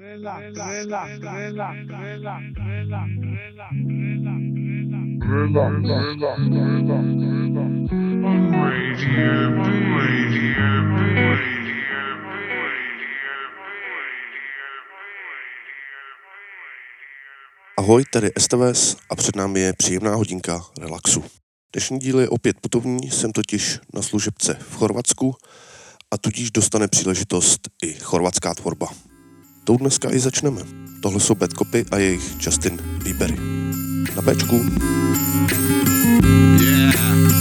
Ahoj, tady STVS a před námi je příjemná hodinka relaxu. Dnešní díl je opět putovní, jsem totiž na služebce v Chorvatsku a tudíž dostane příležitost i chorvatská tvorba. Tou dneska i začneme. Tohle jsou Bad Copy a jejich Justin Biebery. Na péčku. Yeah.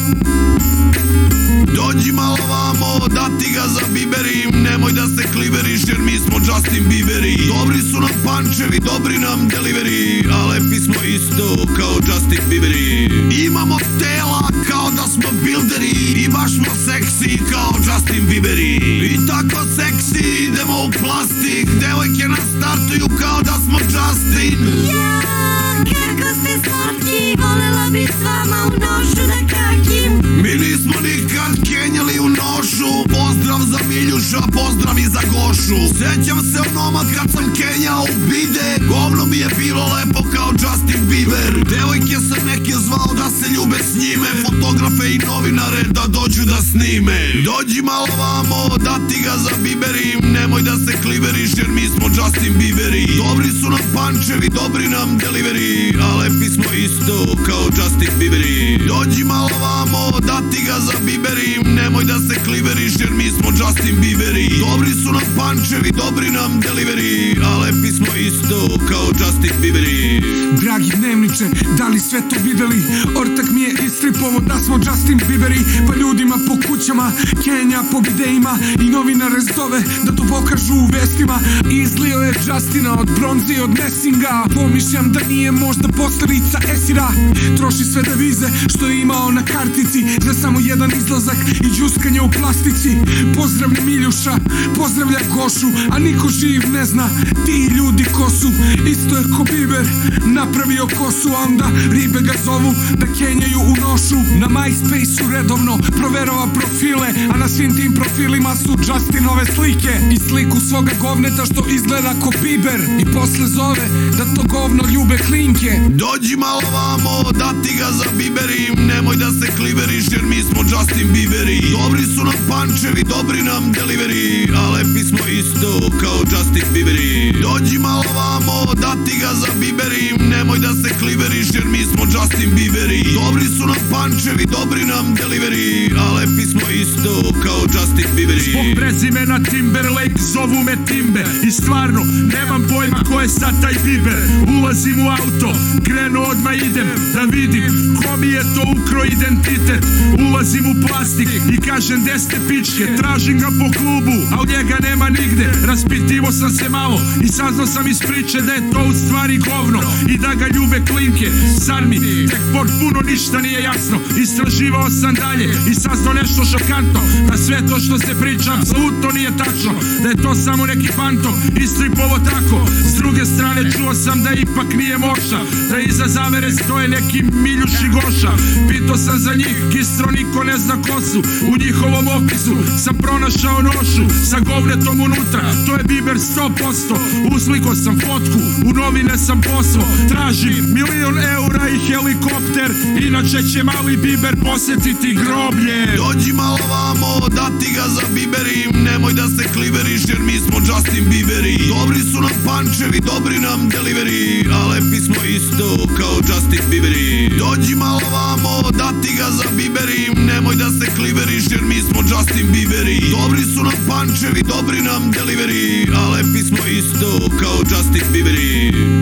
Dođi malo vamo, da ti ga zabiberim. Nemoj da se kliveriš jer mi smo Justin Bieberi. Dobri su nam pančevi, dobri nam delivery, a lepi smo isto kao Justin Bieberi. Imamo tela kao da smo builderi i baš smo seksi kao Justin Bieberi. I tako seksi idemo u plastik, devojke nas startuju kao da smo Justin. Ja, kako ste slatki, volela bi s vama u nošu da kakim. Mi nismo nikad kenjali u nošu. Pozdrav za Miljuša, pozdrav i za Gošu. Sjećam se onomad kad sam kenjao u bide. Govno mi je bilo lepo kao Justin Bieber. Devojke sam neke zvao da se ljube s njime, fotografe i novinare da dođu da snime. Dođi malo vamo, da ti ga zabiberim. Nemoj da se kliveriš jer mi smo Justin Bieberi. Dobri su nam pančevi, dobri nam delivery, a lepi smo isto kao Justin Bieberi. Dođi malo vamo, da ti ga zabiberim. Nemoj da se kliveriš jer mi smo Justin Bieberi. Dobri su nam pančevi, dobri nam delivery, a lepi smo isto kao Justin Bieberi. Dragi dnevniče, da li sve to videli? Ortak mi je istripovo da smo Justin Bieberi. Pa ljudima po kućama, Kenja po videima i novinare zove da to pokažu u vestima. Izlio je Justina od bronze i od Messinga. Pomišljam da nije možda posljedica esira. Troši sve devize što je imao na kartici za samo jedan izlazak i džuskanje u plastici. Pozdravlja Miljuša, pozdravlja Gošu, a niko živ ne zna ti ljudi ko su. Isto je ko Bieber napravio kosu, a onda ribe ga zovu da kenjaju u nošu. Na MySpace-u redovno proverava profile, a na svim tim profilima su Justinove slike i sliku svoga govneta što izgleda ko Bieber. I posle zove da to govno ljube klinke. Dođi malo vamo, da ti ga zabiberim. Nemoj da se kliveriš jer mi smo Justin Bieberi. Dobri su nam pančevi, dobri nam delivery, a lepi smo isto kao Justin Bieberi. Dođi malo vamo, da ti ga zabiberim. Nemoj da se kliveriš jer mi smo Justin Bieberi. Dobri su nam pančevi, dobri nam delivery, a lepi smo isto kao Justin Bieberi. Zbog prezimena Timberlake zovu me Timber. I stvarno, nemam pojma ko je sad taj Bieber. Ulazim u auto, krenu odmah idem da vidim ko mi je to ukro identitet. Ulazim u plastik i kažem gde ste pičke. Tražim ga po klubu, a u njega nema nigde. Raspitivo sam se malo i saznao sam iz priče da je to u stvari govno i da ga ljube klinke. Zar mi tek potpuno ništa nije jasno? Istraživao sam dalje i saznao nešto šokantno, da sve to što se priča apsolutno nije tačno, da je to samo neki fantom istripovo tako. S druge strane čuo sam da ipak nije moša, da iza zavere stoje neki Miljuš i Goša. Pitao sam za njih, kistro niko ne zna ko su. U njihovom opisu sam pronašao nošu sa govnetom unutra, to je Bieber 100%. Uslikao sam fotku, u novine sam poslao. Tražim €1.000.000 i helikopter, inače će mali Bieber posjetiti groblje. Dođi malo vamo, da ti ga zabiberim. Nemoj da se kliveriš jer mi smo Justin Bieberi. Dobri su nam pančevi, dobri nam delivery, a lepi smo isto kao Justin Bieberi. Dođi malo vamo, da ti ga zabiberim. Nemoj da se kliveriš jer mi smo Justin Bieberi. Dobri su nam pančevi, dobri nam delivery, a lepi smo isto kao Justin Bieberi.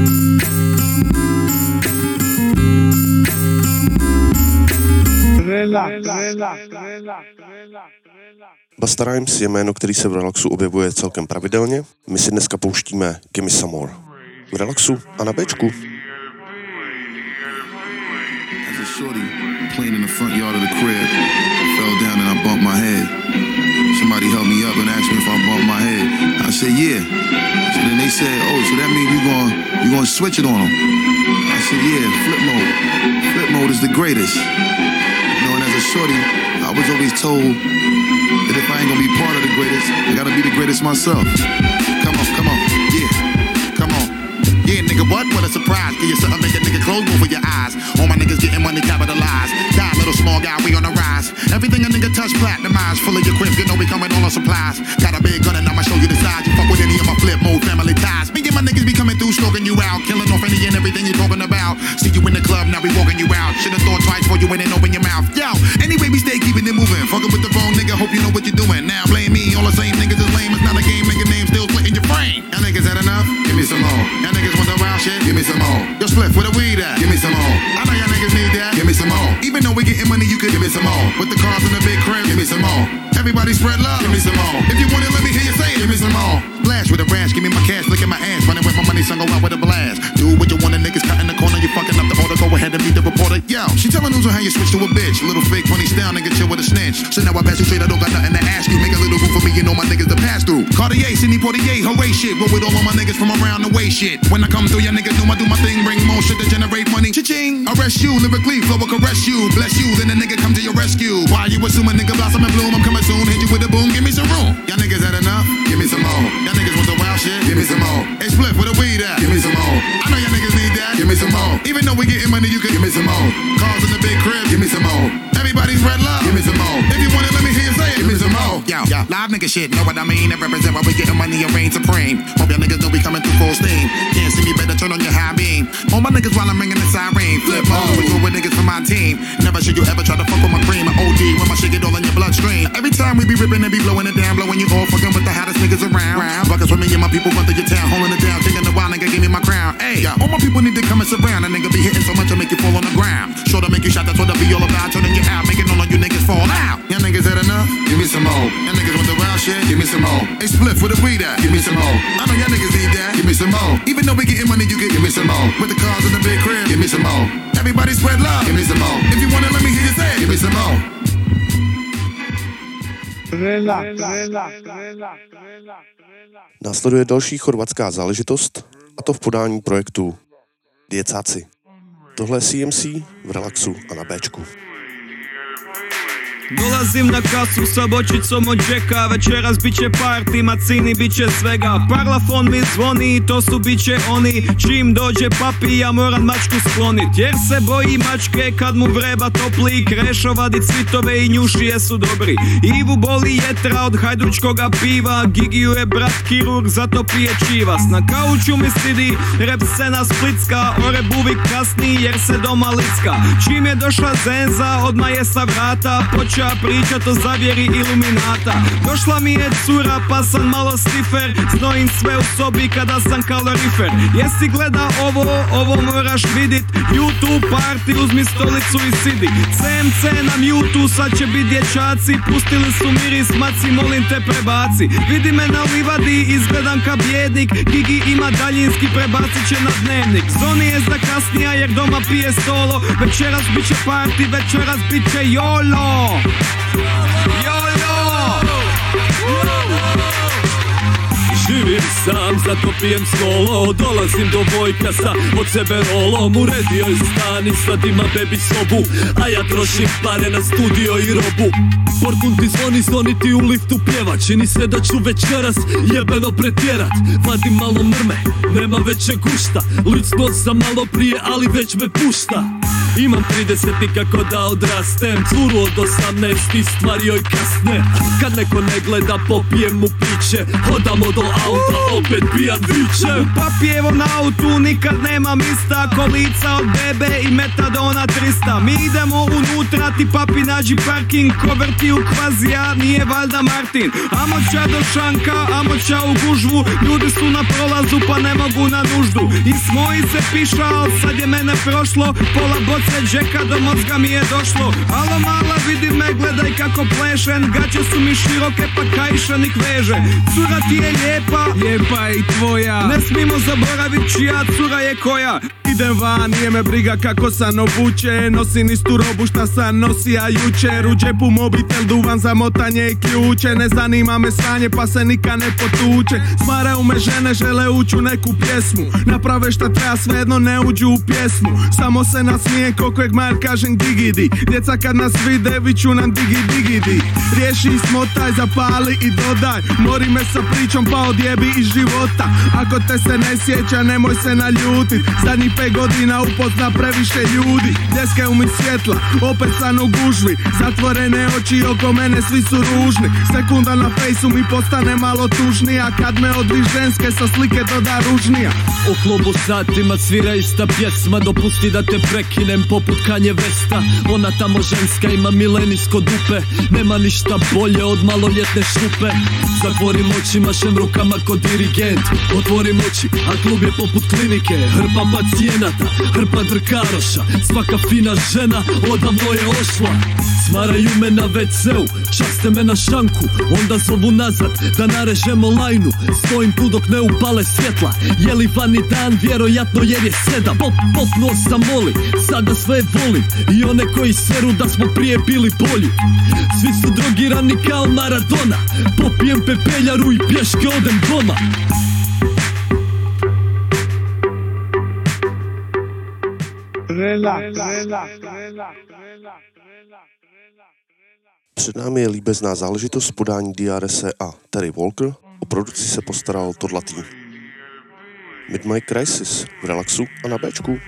Busta Rhymes je jméno, který se v relaxu objevuje celkem pravidelně. My si dneska pouštíme Gimme Some More. V relaxu a na béčku. As a shorty playing in the front yard of the crib, fell down and I bumped my head. Somebody helped me up and asked me if I bumped my head. I said, yeah. So then they said, oh, so that means you gonna switch it on them. I said, yeah, flip mode. Flip mode is the greatest. You know, and as a shorty, I was always told that if I ain't gonna be part of the greatest, I gotta be the greatest myself. Come on, yeah. what? What a surprise. Give you something, make a nigga close both of your eyes. All my niggas getting money capitalized. Die, little small guy, we on the rise. Everything a nigga touch, platinumized. Full of your crib, you know we coming all on supplies. Got a big gun and I'ma show you the size. You fuck with any of my flip mode family ties. Me and my niggas be coming through, stroking you out. Killing off any and everything you talking about. See you in the club, now we walking you out. Should've thought twice before you went and open your mouth. Yo, anyway, we stay keeping it moving. Fucking with the wrong nigga, hope you know what you're doing. Now blame me, all the same niggas is lame. It's not a game, make a name still split in your brain. Y'all niggas had enough? Give me some more. Y'all niggas want the wild shit? Give me some more. Yo, split where the weed at? Give me some more. I know y'all niggas need that. Give me some more. Even though we getting money, you could give me some more. With the cars in the big crib, give me some more. Everybody spread love, give me some more. If you want it, let me hear you say it. Give me some more. Blast with a rash, give me my cash, look at my ass. Running with my money, son, go out with a blast. Do what you want, the niggas cut in the corner, you fucking up the order. Go ahead and meet the reporter. Yo, she telling news on how you switch to a bitch. Little fake funny style, nigga, chill with a snitch. So now I pass you straight, I don't got nothing to ask you. Make a little room for me, you know my niggas to pass through. Cartier, Sidney Poitier, hooray shit. Roll with all of my niggas from around the way shit. When I come through, y'all niggas know I do my thing. Bring more shit to generate money. Cha-ching. Arrest you, lyrically, flow will caress you. Bless you, then the nigga come to your rescue. Why you assuming nigga blossom and bloom? I'm coming soon, hit you with a boom, give me some room. Y'all niggas had enough? Give me some more. Y'all niggas want the wild shit? Give me some more. Hey, split where the weed at? Give me some more. I know y'all niggas need that. Give me some more. Even though we getting money, you can give me some more. Cars in the big crib, give me some more. Everybody's red love, give me some more. If you want it, let me hear you say it. Give me some more. Yo, live nigga shit, know what I mean? That represent why we getting money and reign supreme. Hope y'all niggas know we coming through full steam. Can't see me, better turn on your high beam. All my niggas while I'm ringing the siren. Flip mode, we go with niggas from my team. Never should you ever try to fuck with my cream. I OD when my shit get all in your bloodstream. Every time we be ripping and be blowing it down, blowing you all fucking with the hottest niggas around. Buckets with me and my people run through your town, holding it down, taking a while, nigga, give me my crown. Hey, all my people need to come and surround. A nigga be hitting so much I make you fall on the ground. Sure to make you shot, that's what I be all about. Turning you out, making all of you niggas fall out. Y'all niggas had enough? Give me some more. Y'all niggas want the wild shit? Give me some more. Hey, split for the weed at? Give me some more. I know y'all niggas need that. Give me some more. Even though we getting money, you can give me some more. With the cars in the big crib, give me some more. Everybody spread love, give me some more. If you want it, let me hear you say it. Give me some more. Následuje další chorvatská záležitost, a to v podání projektu Djecáci. Tohle je CMC v Relaxu a na Bčku. Dolazim na kasu sa bočicom od Jacka. Večeras biće party, macini biće svega. Parlafon mi zvoni, to su biće oni. Čim dođe papi, ja moram mačku sklonit. Jer se boji mačke kad mu vreba topli. Krešo vadi cvitove i njušije su dobri. Ivu boli jetra od hajdučkoga piva. Gigiju je brat kirurg, zato pije čivas. Na kauču mi sidi rep scena splitska. Ore buvik kasni jer se doma licka. Čim je došla zenza, odmah je sa vrata. Počela pričat o zavjeri iluminata. Došla mi je cura pa sam malo stifer. Znojim sve u sobi kada sam kalorifer. Jesi gleda ovo moraš vidit. YouTube party, uzmi stolicu i sidi. CMC na mute, sad će bit dječaci. Pustili su miris, maci molim te prebaci. Vidi me na livadi, izgledam ka bjednik. Gigi ima daljinski, prebacit će na dnevnik. Zoni je zakasnija jer doma pije solo. Večeras bit će party, večeras bit će YOLO. Živim sam, zato pijem skolo. Dolazim do Vojkasa, od sebe rolom. Uredio je stan i sad ima bebi sobu. A ja trošim pare na studio i robu. Porkun ti zvoni ti u liftu pjeva. Čini se da ću večeras jebeno pretjerat. Vadim malo mrme, nema veće gušta. Licno sam malo prije, ali već me pušta. Imam 30 i kako da odrastem. Curu od 18 stvari joj kasne. Kad neko ne gleda popijem mu piće. Hodamo do auta, opet pijan viće. U papijevom autu nikad nema mista. Kolica od bebe i metadona 300. Mi idemo unutra, ti papi nađi parking. Ko vrti u kvazija, nije valjda Martin. Amoća do šanka, amoća u gužvu. Ljudi su na prolazu pa ne mogu na nuždu. I smoji se pišao, sad je mene prošlo. Pola boce Jacka do mozga mi je došlo. Alo mala, vidi me, gledaj kako plešen. Gaće su mi široke pa kajšanik veže. Cura ti je lijepa je i tvoja. Ne smimo zaboravit čija cura je koja. Idem van, nije me briga kako sam obuče. Nosim istu robu šta sam nosija jučer. U džepu mobitel, duvan za motanje i ključe. Ne zanima me sranje pa se nikad ne potuče. Smaraju me žene, žele ući u neku pjesmu. Naprave šta treba, svejedno ne uđu u pjesmu. Samo se nasmije ko kojeg majer kažem digidi. Djeca kad nas vide viću nam digidi. Riješi i smotaj, zapali i dodaj. Mori me sa pričom pa odjebi iz života. Ako te se ne sjeća nemoj se naljutit. Zadnjih 5 godina upozna previše ljudi. Djeske mi svjetla, opet san u gužvi. Zatvorene oči oko mene svi su ružni. Sekunda na fejsu mi postane malo tužnija. Kad me odvi ženske sa slike doda ružnija. U klubu satima svira ista pjesma. Dopusti da te prekinem poput Kanje Vesta. Ona tamo ženska ima milenijsko dupe. Nema ništa bolje od maloljetne šupe. Zatvorim oči, mašem rukama kod dirigent. Otvorim oči, a klub je poput klinike. Hrpa pacijenata, hrpa drkaroša. Svaka fina žena odavno je ošla. Smaraju me na WC-u, časte me na šanku. Onda zovu nazad da narežemo lajnu. Stojim tu dok ne upale svjetla. Je li vani dan, vjerojatno jer je 7. Popnuo sam moli, sada sve volim. I one koji seru da smo prije bili bolji. Svi su drogirani kao Maradona. Popijem pepeljaru i pješke odem doma. Před námi je líbezná záležitost podání DRS a Terry Walker. O produkci se postaral Toddla tým. Midnight Crisis v Relaxu a na Bčku.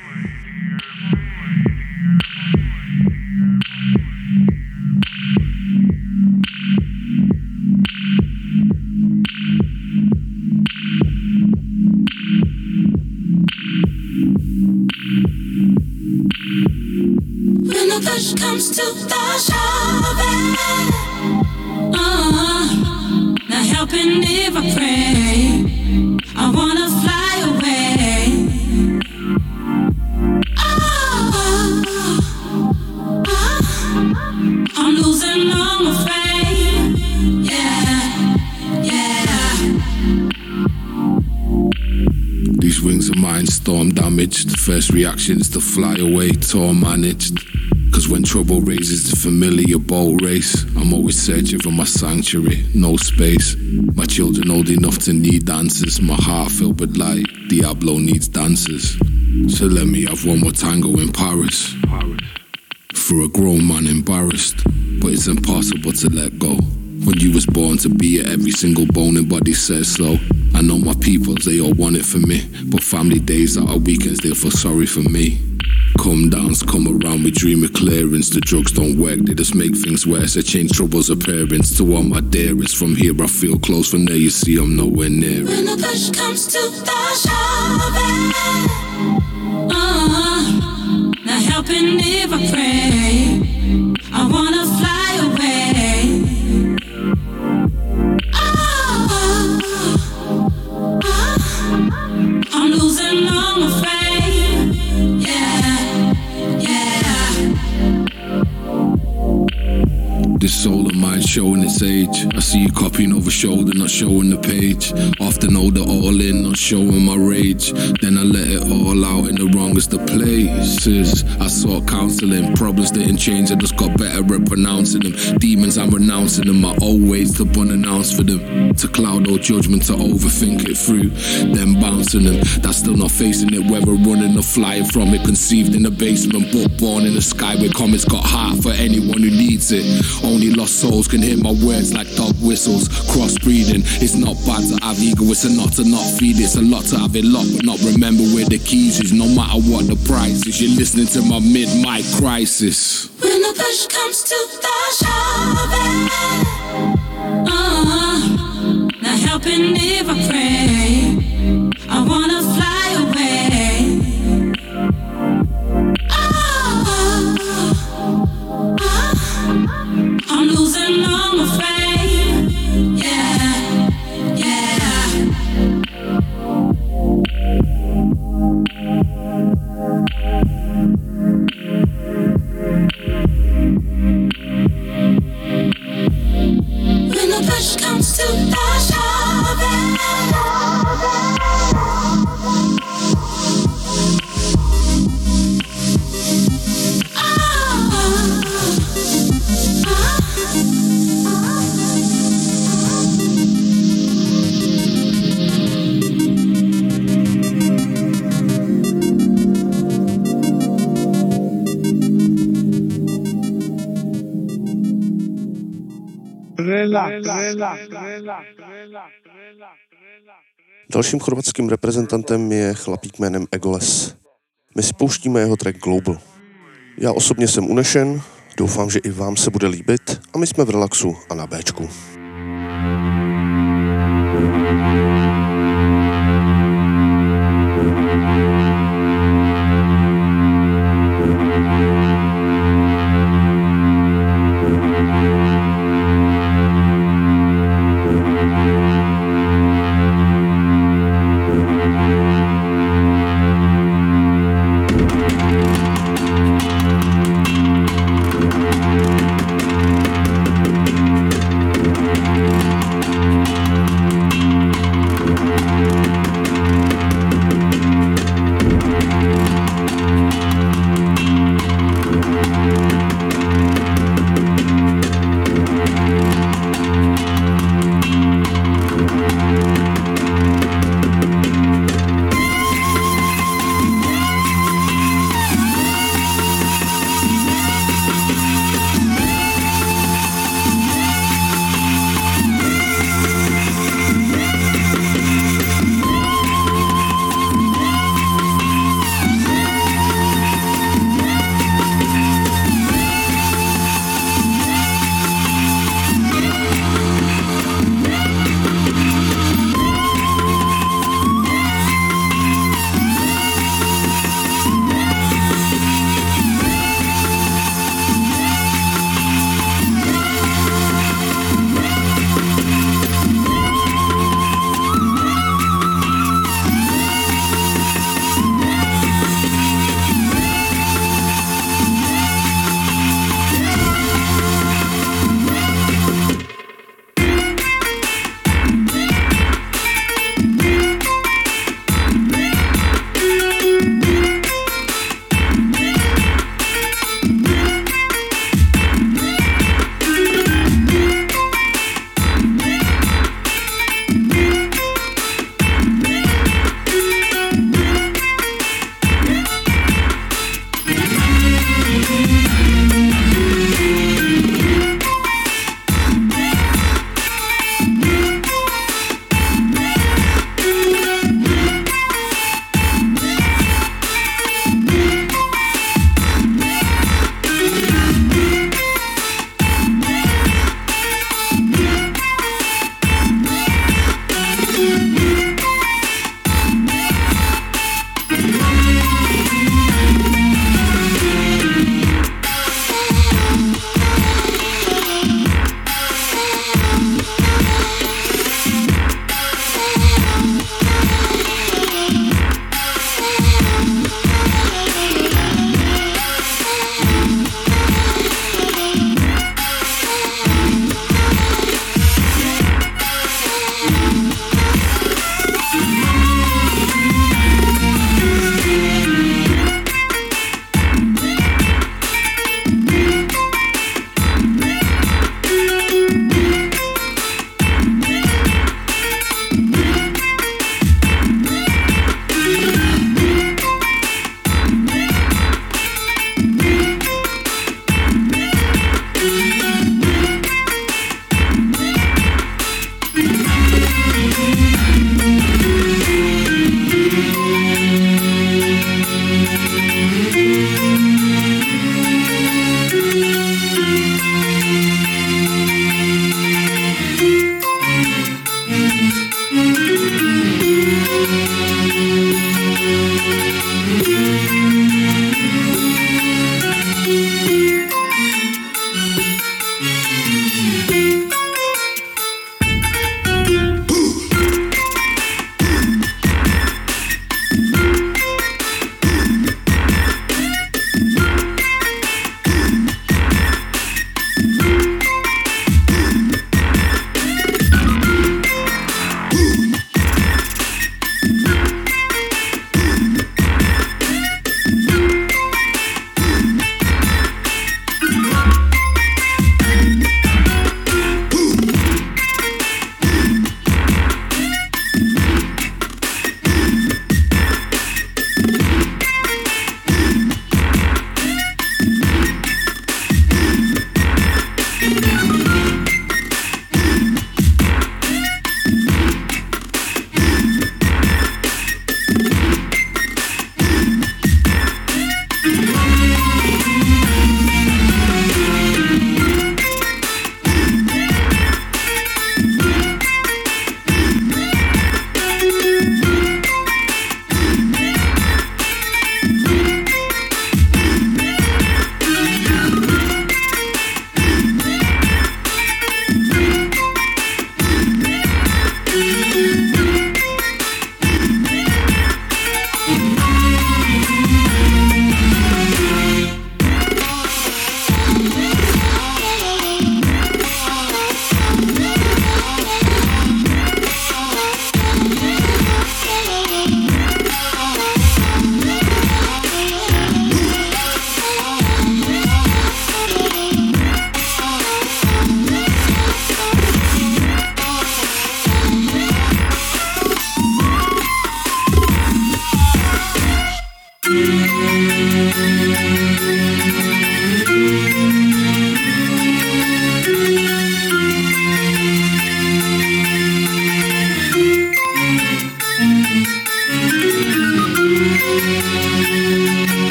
When the push comes to the shove, not helping if I pray. I wanna fly away. I'm losing all my faith. Yeah. These wings of mine storm damaged. First reactions to fly away, torn managed. Cause when trouble raises the familiar boat race, I'm always searching for my sanctuary, no space. My children old enough to need dancers. My heart filled with light, Diablo needs dancers. So let me have one more tango in Paris. For a grown man embarrassed, but it's impossible to let go. When you was born to be it, every single bone and body says so. I know my peoples, they all want it for me, but family days that are weekends, they'll feel sorry for me. Come downs, come around, we dream of clearance. The drugs don't work, they just make things worse. They change trouble's appearance. To all my dearest, from here I feel close, from there you see I'm nowhere near it. When the push comes to the shove, not helping if I pray. I wanna fly away. I'm losing all my faith. This soul of mine showing its age. I see you copying over shoulder, not showing the page. Often hold it all in, not showing my rage. Then I let it all out in the wrongest of places. I sought counseling, problems didn't change, I just got better at pronouncing them. Demons, I'm renouncing them, my old ways to unannounce for them. To cloud all judgment, to overthink it through, then bouncing them. That's still not facing it, whether running or flying from it. Conceived in the basement, but born in the sky with comets. Got heart for anyone who needs it. Only lost souls can hear my words like dog whistles. Crossbreeding, it's not bad to have ego, it's a not to not feed. It's a lot to have it locked but not remember where the keys is. No matter what the price is, you're listening to my mid-mic crisis. When the push comes to the shove, not helping if I pray. I wanna fly away. I'm losing all my faith. Yeah. When the push comes to the shove, Dalším chorvatským reprezentantem je chlapík jménem Egoles. My si pouštíme jeho track Global. Já osobně jsem unešen, doufám, že i vám se bude líbit a my jsme v Relaxu a na Bčku.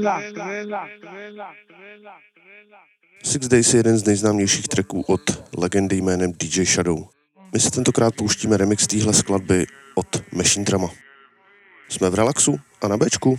Six Days je jeden z nejznámějších tracků od legendy jménem DJ Shadow. My si tentokrát pouštíme remix téhle skladby od Machine Drama. Jsme v Relaxu a na Bčku.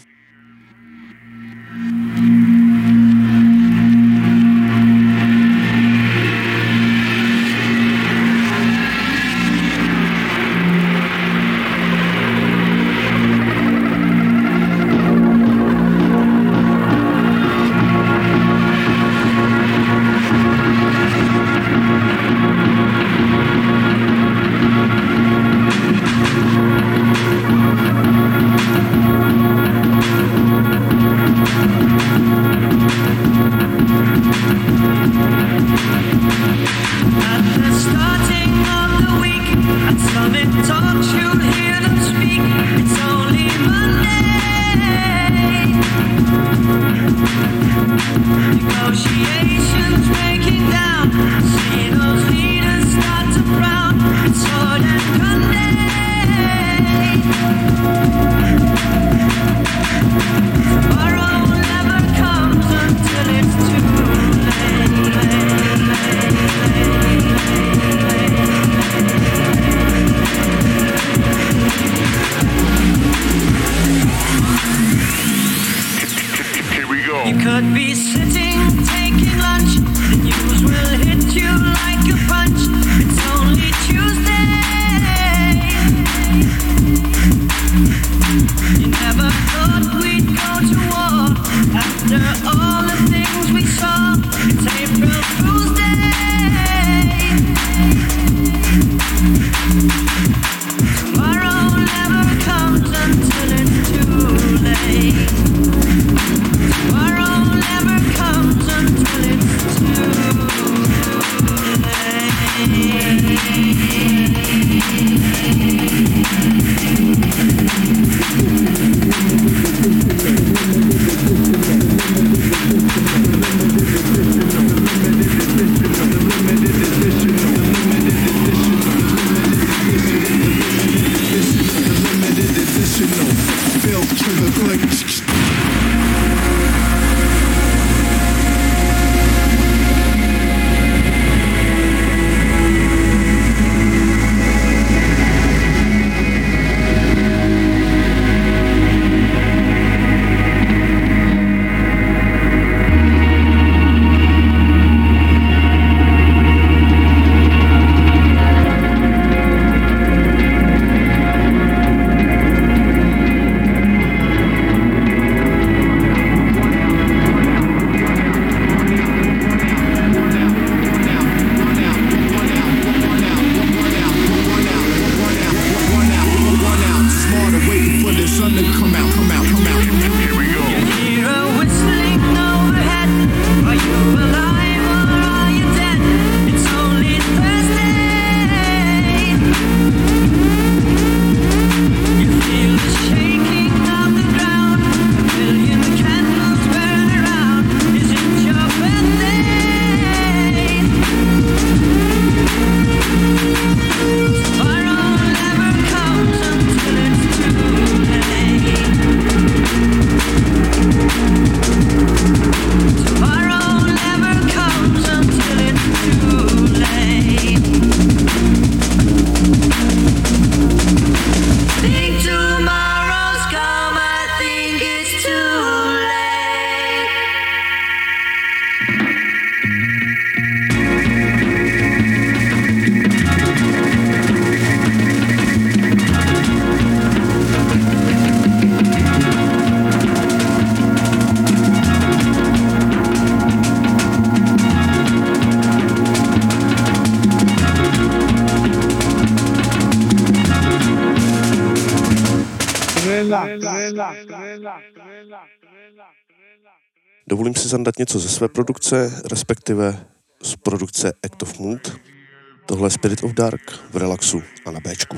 Dovolím si zandat něco ze své produkce, respektive z produkce Act of Mood. Tohle je Spirit of Dark v Relaxu a na Bčku.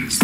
dance.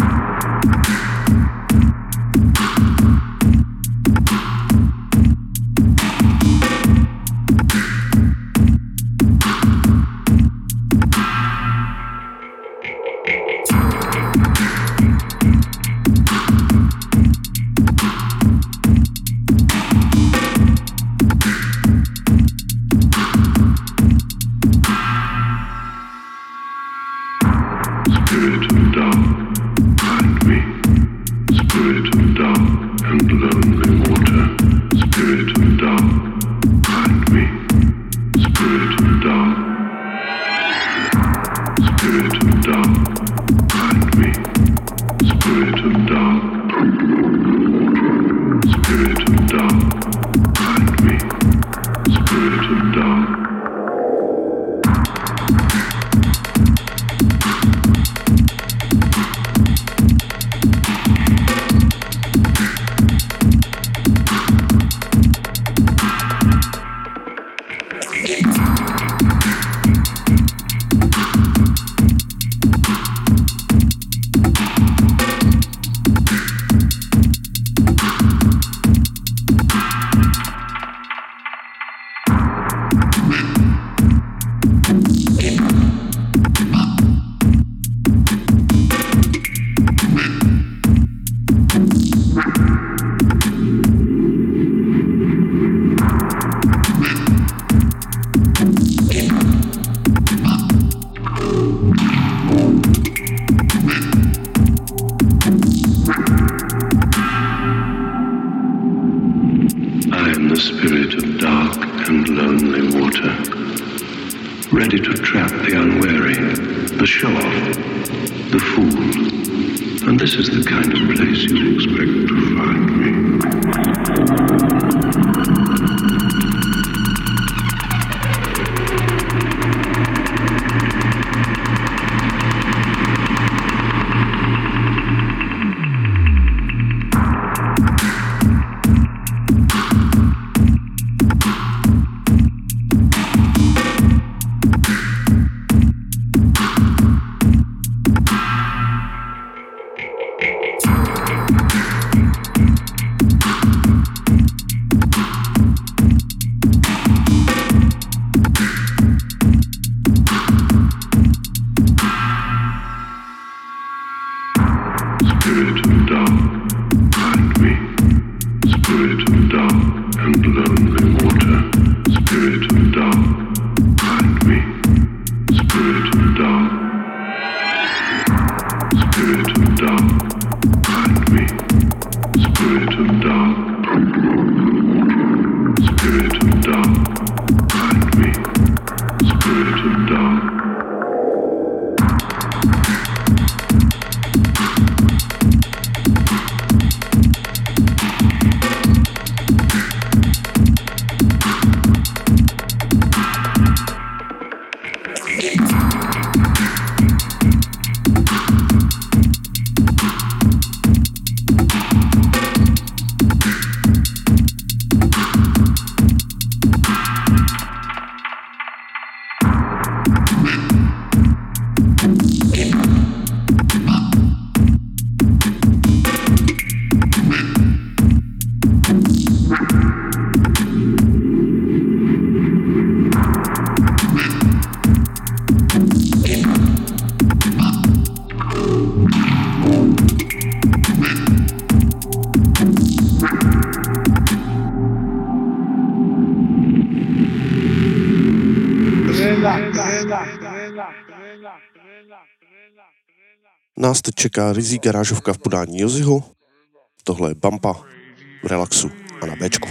Nás teď čeká rizí garážovka v podání Joziho. Tohle je Bumpa v Relaxu a na Bčku.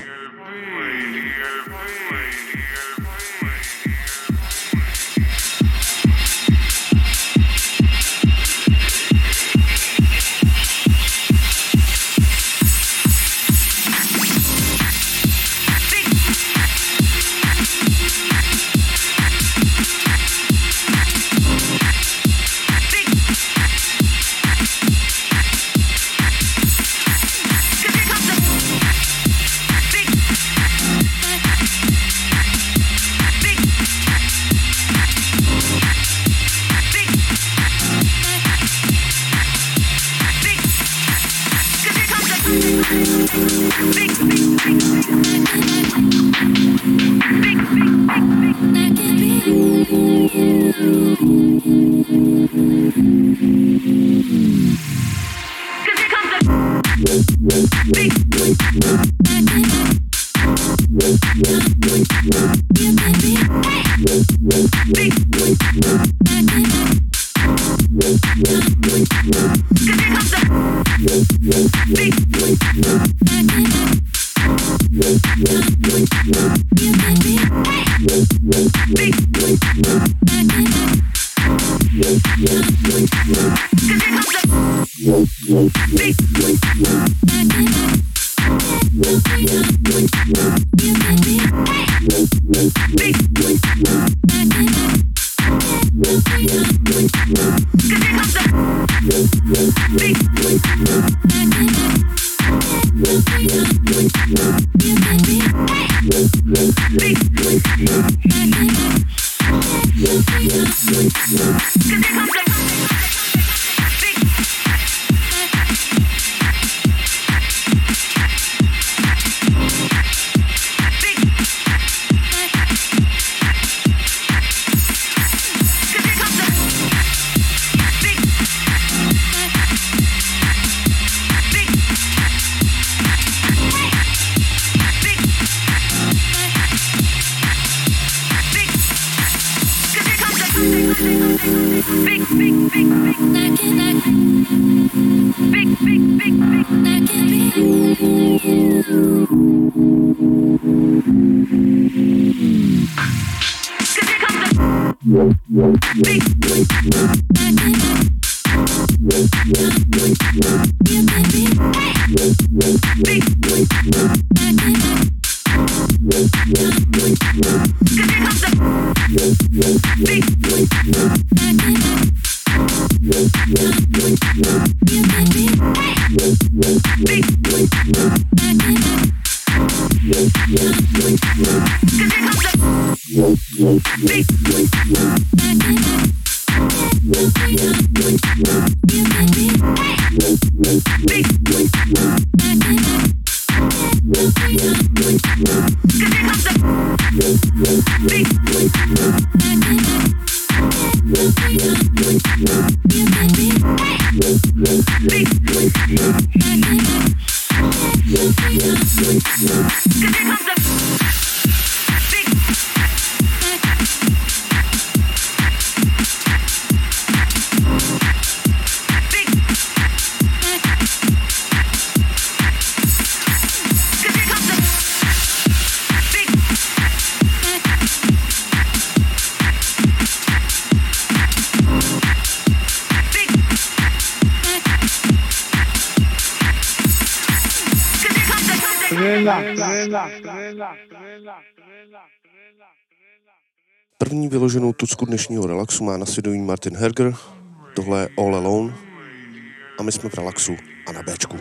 Big První vyloženou tucku dnešního relaxu má na svědomí Martin Herger, tohle je All Alone a my jsme v relaxu a na Bčku.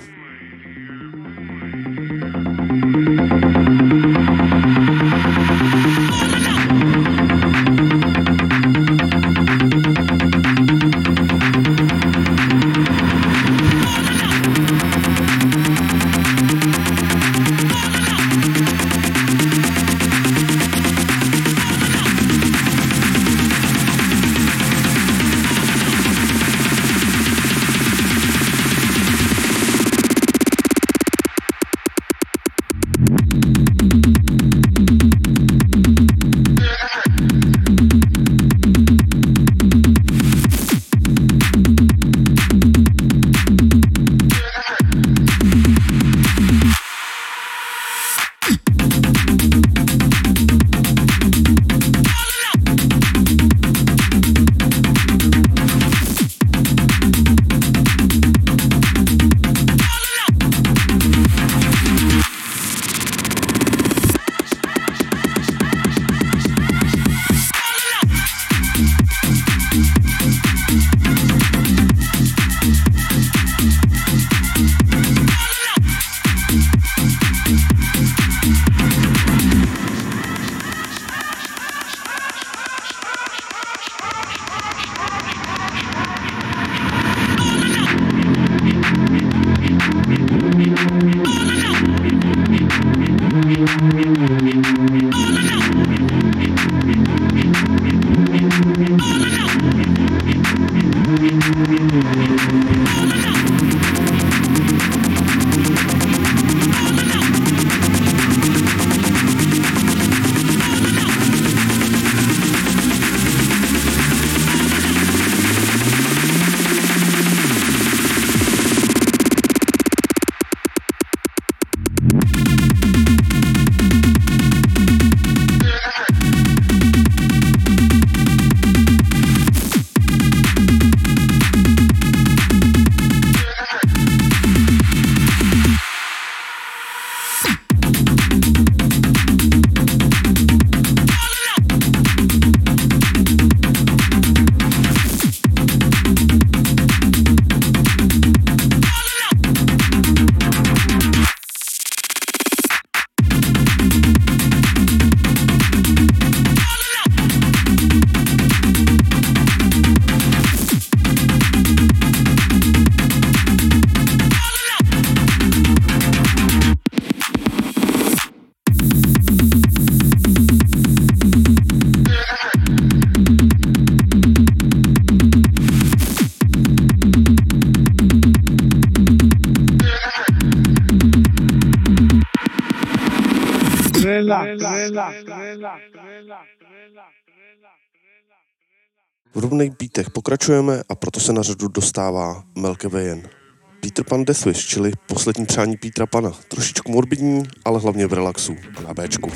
V rovných beatech pokračujeme a proto se na řadu dostává Melke Vejen. Peter Pan Deathwish, čili poslední přání Petra Pana. Trošičku morbidní, ale hlavně v relaxu a na Bčku.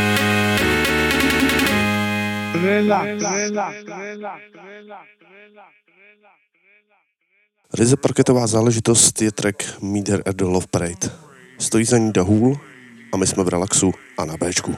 Relax. Ryze parketová záležitost je track Meet Her at the Love Parade. Stojí za ní Dahul a my jsme v Relaxu a na Bčku.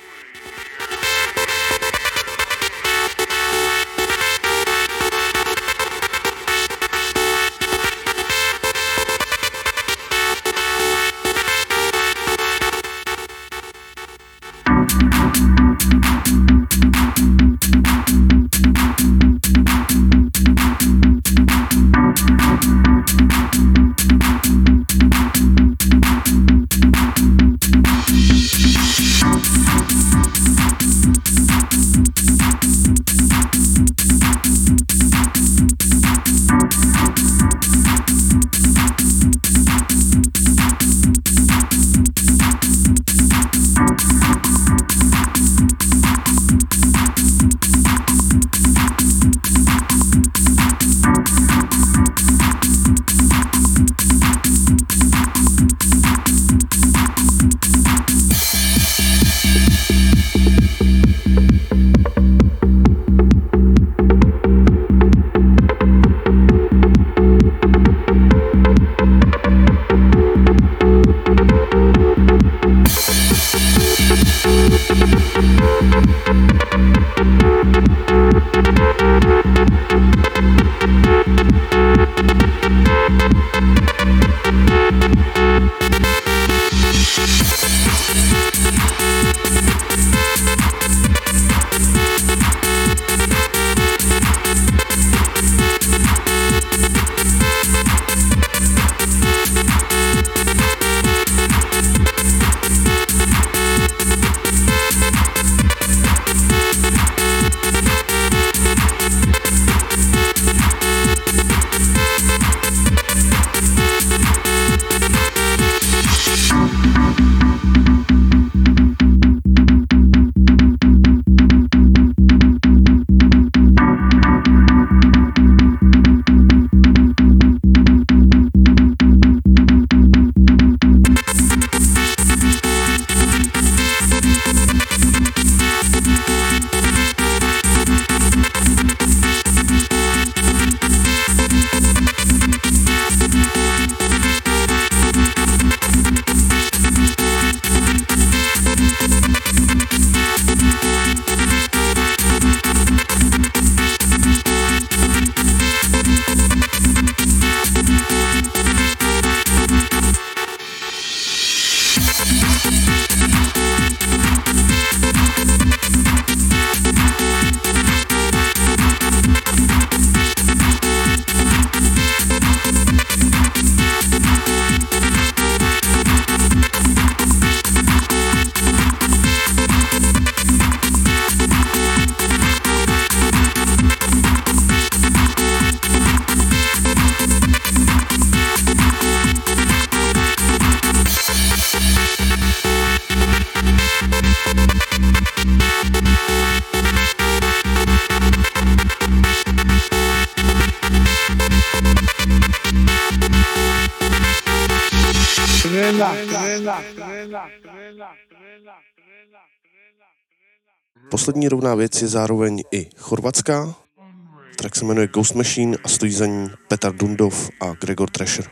Poslední rovná věc je zároveň i chorvatská. Track se jmenuje Ghost Machine a stojí za ní Petar Dundov a Gregor Thrasher.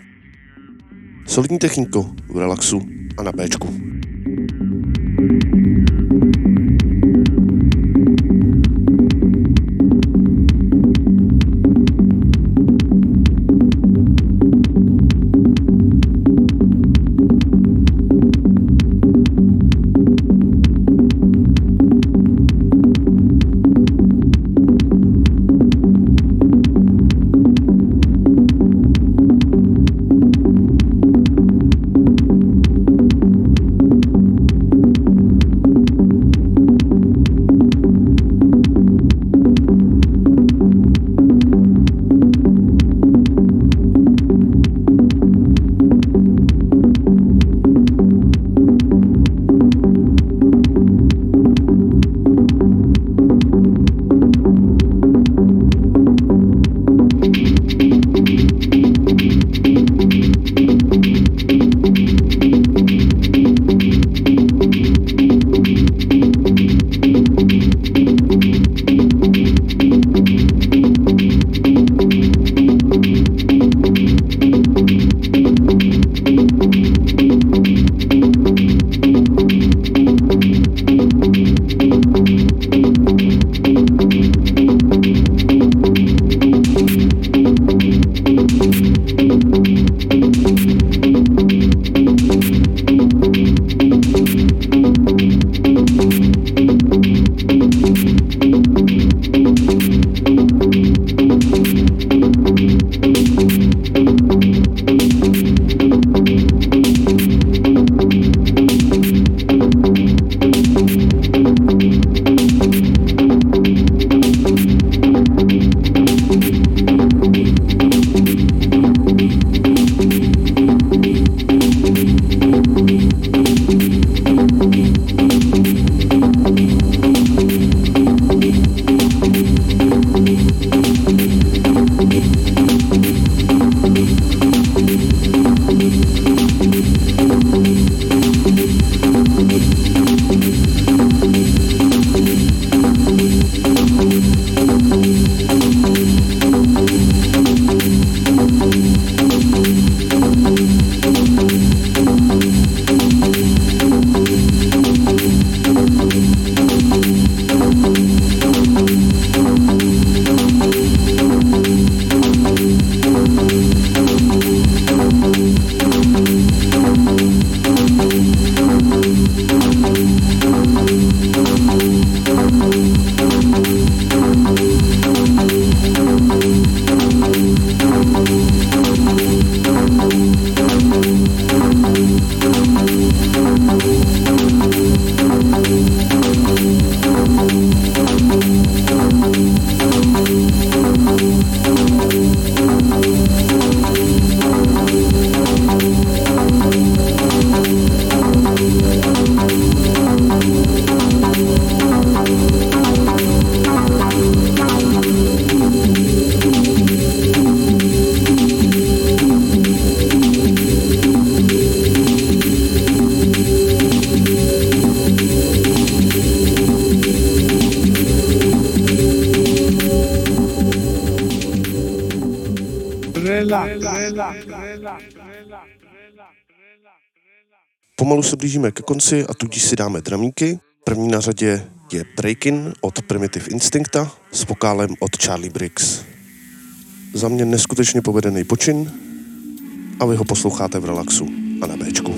Solidní techniko v Relaxu a na Bčku. Pomalu se blížíme ke konci a tudíž si dáme dramíky. První na řadě je Breakin od Primitive Instincta s vokálem od Charlie Briggs. Za mě neskutečně povedený počin a vy ho posloucháte v relaxu a na Bčku.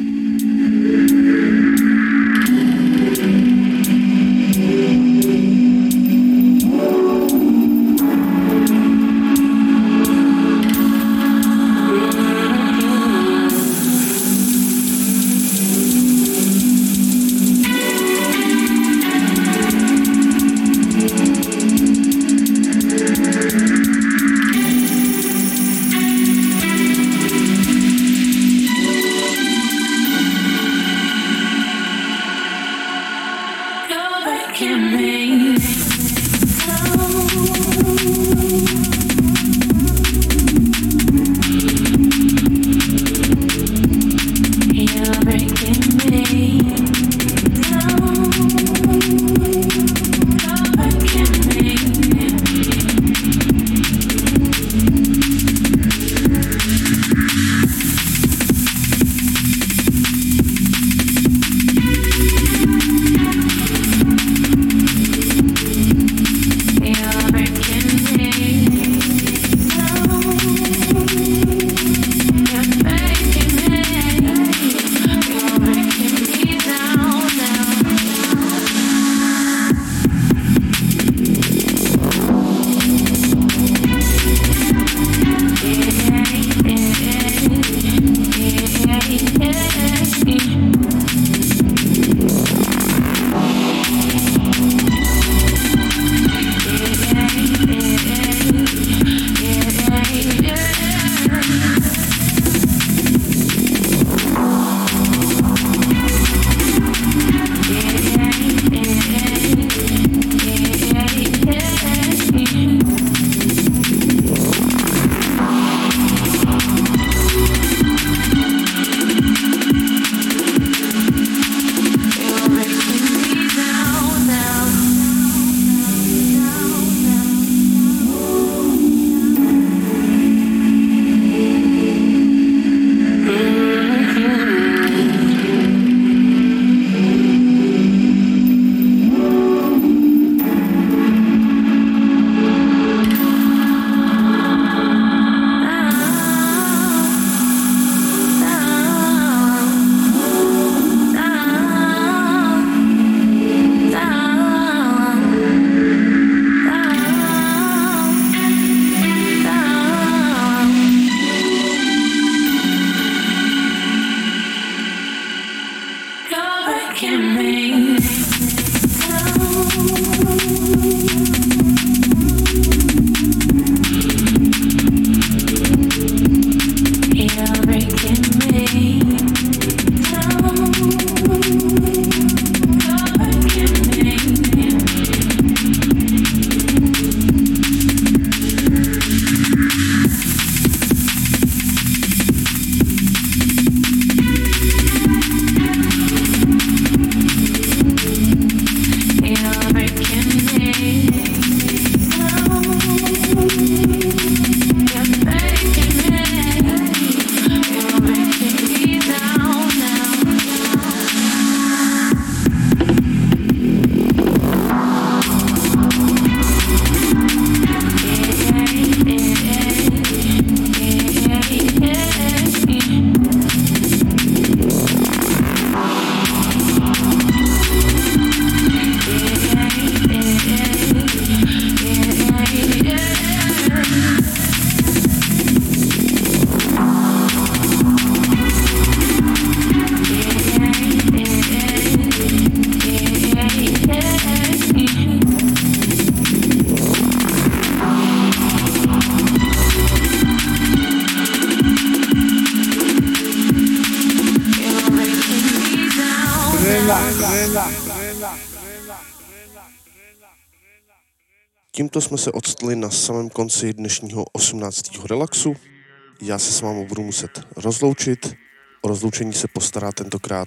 Tímto jsme se odstli na samém konci dnešního 18. relaxu. Já se s vámi budu muset rozloučit. O rozloučení se postará tentokrát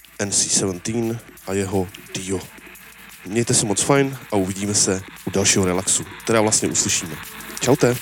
NC17 a jeho Dio. Mějte se moc fajn a uvidíme se u dalšího relaxu, teda vlastně uslyšíme. Čaute.